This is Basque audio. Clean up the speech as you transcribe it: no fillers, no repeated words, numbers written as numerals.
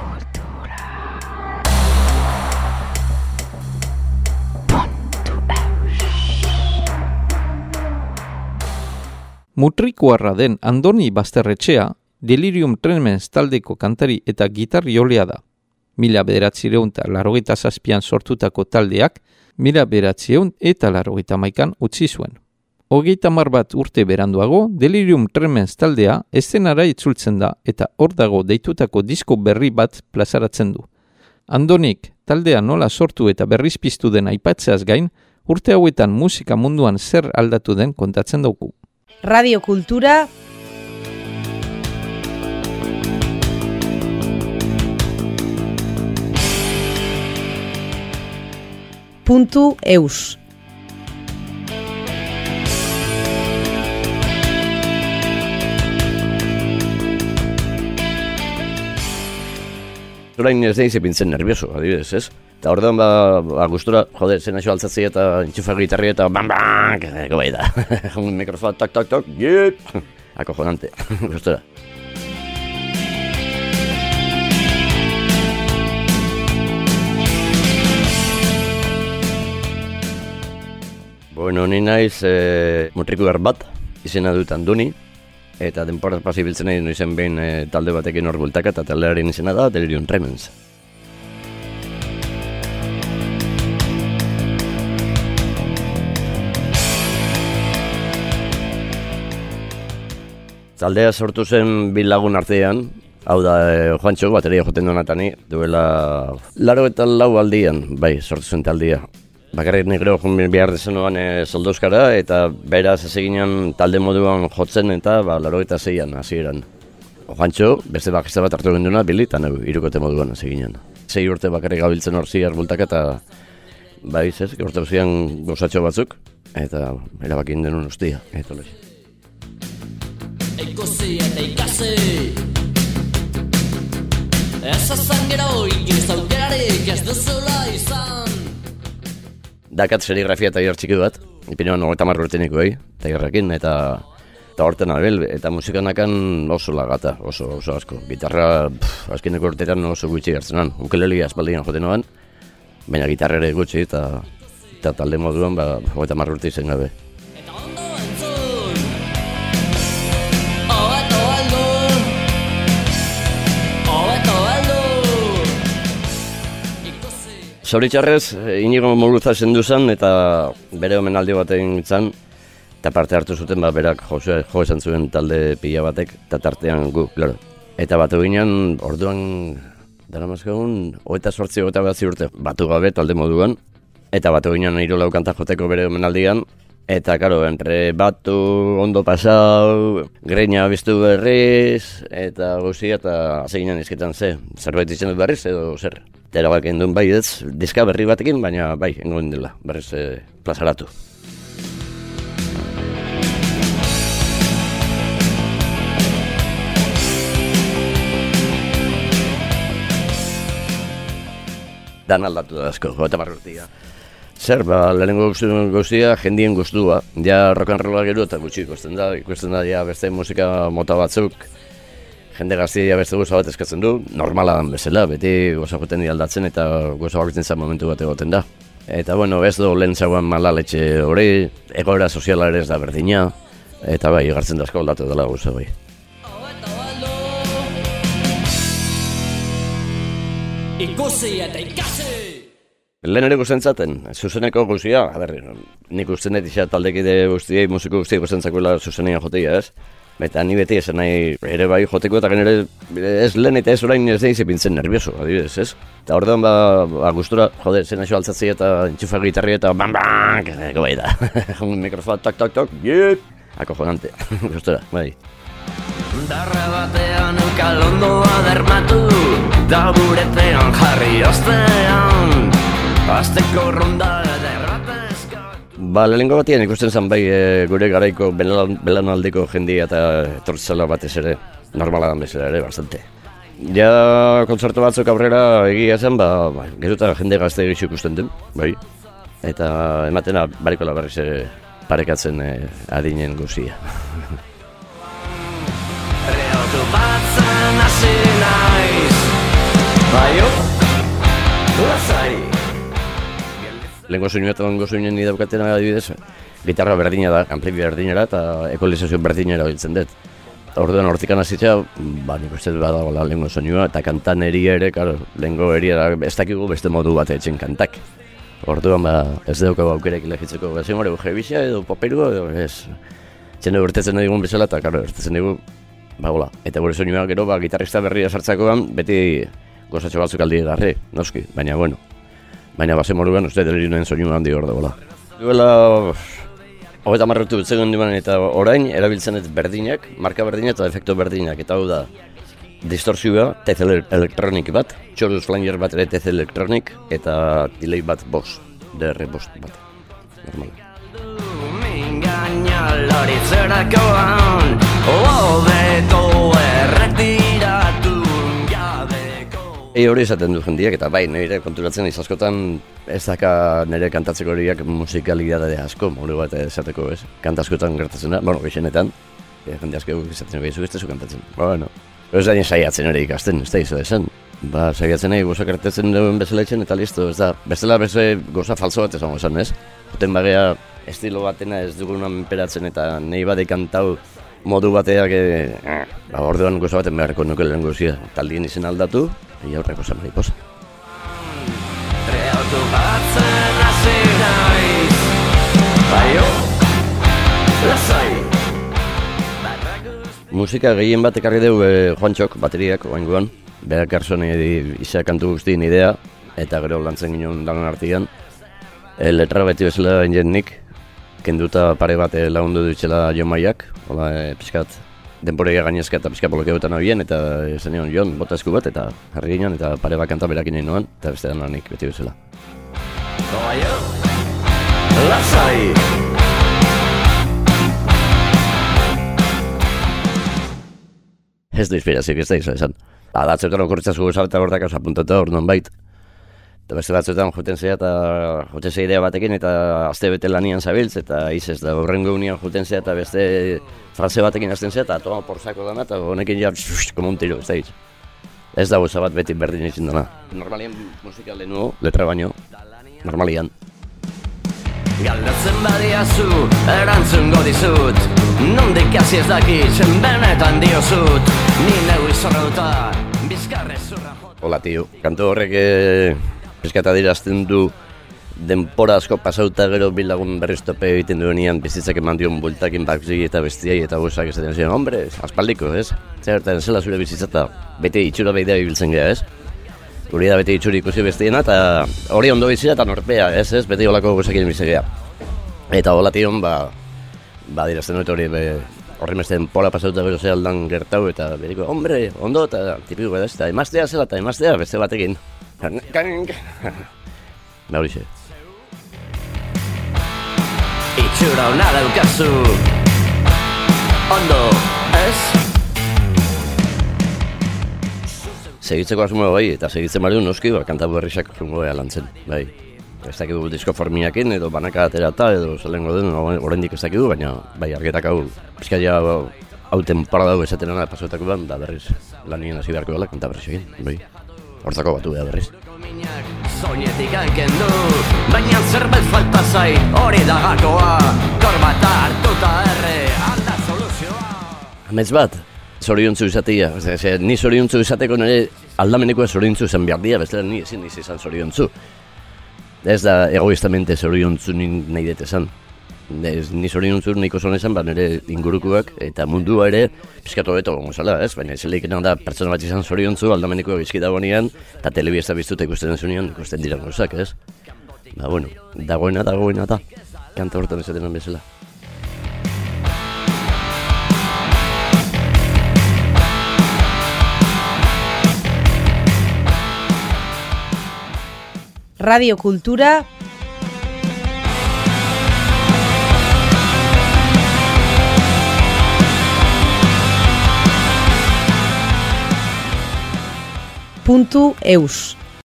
Mutrikuarra den Andoni Basterretxea, Delirium Tremens taldeko kantari eta gitarriolea da. 1987an sortutako taldeak, 1991an utzi zuen. 30 bat urte beranduago, Delirium Tremens taldea eszenara itzultzen da eta hor dago deitutako disko berri bat plazaratzen du. Andonik taldea nola sortu eta berriz piztu den aipatzeaz gain, urte hauetan musika munduan zer aldatu den kontatzen dauku. Radio Kultura .eus Orain ez deiz epintzen nervioso, adibidez, ez? Eta ordean gustura, jode, zen aixo altzatzea eta intxufa gitarria eta bam, eko bai da. Mikrofon, tak, jip! Acojonante, gustura. Bueno, ni naiz mutrikuar bat, izena dut Andoni, eta denporaz pasi biltzen nahi noizen behin talde batekin hor bultaka, eta taldearen izena da Delirium Tremens. Taldea sortu zen bi lagun artean, hau da Juantxo, bateria joten donatani, duela 84 aldian, bai, sortu zen taldea. Bakarrik negro behar dezenuan soldozkara eta beraz ezeginan talde moduan jotzen eta 86an hasieran. Juantxo, beste bakista bat hartu genduna, Bili, eta irukote moduan ezeginan. 6 urte bakarrik gabiltzen hor ziar bultaka eta bai, ez, urte zian gozatxo batzuk eta erabakin denun ustia. Ikusi eta ikasi Ez azan gero inoiz aukerarik ez duzula izan Dakat serigrafia eta txiki bat, ipinoan 30 urteniko tailerrekin eta horten abel, eta musikanakan oso lagata, oso asko. Gitarra azkeneko urtetan oso gutxi hartzenan, ukelele aspaldian joten noan, baina gitarra ere gutxi eta talde moduan 30 urte izen gabe. Zoritxarrez, Inigo Muguruza zendu zen eta bere omenaldi batean izan, eta parte hartu zuten berak jo esan zuen talde pila batek, eta tartean gu, klaro. Eta batu ginen, orduan, dara mazkagun, 28-29 urte batu gabe talde moduan, eta batu ginen 3 kanta joteko bere omenaldian, eta, karo, entre batu, ondo pasau, greina biztu berriz, eta guzia, eta zeginen izketan zerbait izan dut berriz edo zer. Eta bak endun bai ez, diska berri batekin, baina bai, engoen dela, berriz plazaratu. Dan aldatu da asko, 30 urtea. Zer, lehenengo guztia, jendien guztua. Ja rock and rolla gero eta gutxi ikusten da ja beste musika mota batzuk. Jende gaztia beste goza bat eskatzen du, normala dan bezala, beti goza joten aldatzen eta goza bakitzen zen momentu bat egoten da. Eta bueno, ez do lehen zauan malaletxe hori, egoera soziala ere ez da berdina, eta bai, egartzen da asko aldatu dela goza bai. Ikusi eta ikasi! Lehen ere guztentzaten, zuzeneko guztia, nik usten dut isa taldekide guztiei, musiko guztiei guztentzakoela zuzenean joteia, ez? Eta ni beti esan nahi ere bai joteko eta genere ez lehen eta ez orain ez deiz epintzen nervioso, adibidez, ez? Eta ordean gustura, jode, zen aixo altzatzea eta intxufa gitarria eta bam, eko bai da. Mikrofon, tak, jip! Acojonante, gustura, bai. Darra batean eukalondoa dermatu, da buretean jarri ostean, azteko ronda derratezka. Lehenengo batian ikusten zen bai gure garaiko belanaldeko jendia eta etortzela batez ere, normala dan bezala ere, bastante. Ja kontzertu batzuk aurrera egia zen, geruta jende gazte egitxu ikusten den, bai. Eta ematena barikola berriz parekatzen adinen guzia. Reotu batzen hasi naiz, Baio, lasai. Lehenko soinu eta lehenko soinen idaukaten adibidez, gitarra berdina da, ampli berdinera eta ekolizazio berdinera biltzen dut. Orduan hortikan hazitzea, nik uste badagoela lehenko soinua, eta kantan eria ere, lehenko eria ez dakigu beste modu bat etxen kantak. Orduan ez daukagu aukerek ilegitzeko, ezin hori jebizia edo paperuko, edo ez. Txende urtetzen digun bezala, eta urtetzen digu, eta gure soinua gero, gitarrista berria sartzakoan, beti gozatxo batzuk aldi garri, noski, baina bueno. Baina bazen moruan, uste Deliriumen soinua handi hor dagoela. Duela, 30 urte betzen diman eta orain, erabiltzen ez berdinak, marka berdinak eta efektu berdinak, eta hau da, distorsioa, tez elektronik bat, chorus flanger bat ere tez elektronik, eta delay bat boss, DR boss bat, normal. Hori esaten du jendiak, eta bai, nire konturatzen izaskotan ez daka nire kantatzeko horiak musikalidade asko, moru bat esateko, ez? Kantaskotan gertatzen da, gexenetan, jende asko izaten behizu ez kantatzen. Ez da saiatzen ere ikasten, ez da izo esan. Saiatzen nahi goza gertatzen duen bezala etxen eta listo, ez da, bestela beste goza falso bat esango esan, ez? Joten bagea estilo batena ez duguna menperatzen eta nahi bat kantau modu bateak, orduan goza baten beharko nuke lehen gozia. Taldien izen aldatu, eta horreko zan mariposa. Reautu batzen hasi naiz, baio, lasai. Musika gehien bat ekarri dugu Juantxok, bateriak, oaingoan. Berak garzone izak kantu guztien idea, eta gero lantzen ginen dagoen artian. Letra beti bezala ingen nik, kenduta pare bat lagundu ditxela Jon Maiak, pixkat denporeia gainezka eta pixka blokeotan abien, eta zen nion Jon, bota esku bat, eta jarri ginen, eta pare bat kanta berakin nahi noan, eta beste dena nik beti bezala. Baio, lasai! Ez du inspirazioak ez da izan. Batzuetan okurritzazko gozal eta gordak hau apuntatu hor non bait. Eta beste batzuetan juten zea eta juten zea idea batekin eta azte bete lanian zabiltz eta izez da horrengo unian juten zea eta beste frase batekin azten zea eta toma porzako dana eta honekin ja como un tiro, ez da hitz. Ez da goza bat beti berdin izin dana. Normalian musika lehenuo, letra baino, normalian. Galdatzen badiazu, erantzungo dizut, nondik hasi ez dakitzen benetan diozut, ni neu izorrauta, bizkarre zurra jota. Hola, tio, kanto horrek pizkata dirazten du denpora asko pasauta gero bilagun berriztope egiten duenean bizitzak eman dion bultakin bakzi eta bestiai eta gozak esaten ziren, hombre, aspaldiko, ez? Zertan zela zure bizitzata, bete itxura behidea ibiltzen geha, ez? Hori da beti itxuri ikusi bestiena eta hori ondo bizira eta norpea, ez, beti holako gozakin bizigea. Eta hola tion, dirazten dut hori, horri mezten pola pasauta bero ze aldan gertau eta beriko, hombre, ondo eta tipiko edaz, eta emaztea zela eta emaztea beste batekin. Horixe. Itxura hona daukazu, ondo, ez? Segitzeko asmoa bai, eta segitzen bari noski, kanta berrizak jungo lantzen, bai. Ez dakidu disko formiakin, edo banaka aterata, edo zelengo den, oraindik ez dakidu, baina bai, argetak hau, pizkaia hau temporada hau esaten ana pasoetako ban, da berriz lanien hasi beharko dela, kanta berrizekin, bai. Hortzako batu beha berriz. Soinetik hankendu, baina zerbait falta zai, hori da gakoa, korbata hartuta erre, alda soluzioa. Amets bat, zoriontzu izatea, ni zoriontzu izateko nire aldamenekoa zoriontzu zen behar dia, bestela ni ezin izan zoriontzu. Ez da egoistamente zoriontzu nahi dut esan. Ni zoriontzu nahiko zon esan, nire ingurukoak eta mundua ere pizkatu beto gongo zala, ez? Baina zeleik da pertsona bat izan zoriontzu aldamenekoa bizki dagoenean eta telebiesta biztuta ikusten zunean ikusten dira gozak, ez? Dagoena da, kanta hortan esaten bezala. Radio Kultura. .eus